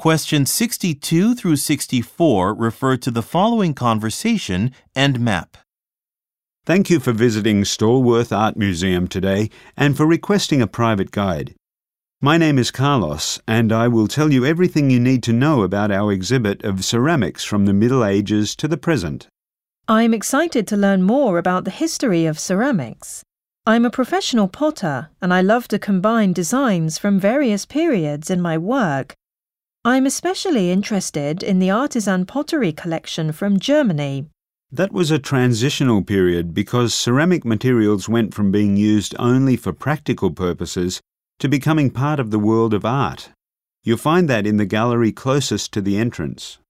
Questions 62 through 64 refer to the following conversation and map. Thank you for visiting Stallworth Art Museum today and for requesting a private guide. My name is Carlos, and I will tell you everything you need to know about our exhibit of ceramics from the Middle Ages to the present. I'm excited to learn more about the history of ceramics. I'm a professional potter, and I love to combine designs from various periods in my work. I'm especially interested in the artisan pottery collection from Germany. That was a transitional period because ceramic materials went from being used only for practical purposes to becoming part of the world of art. You'll find that in the gallery closest to the entrance.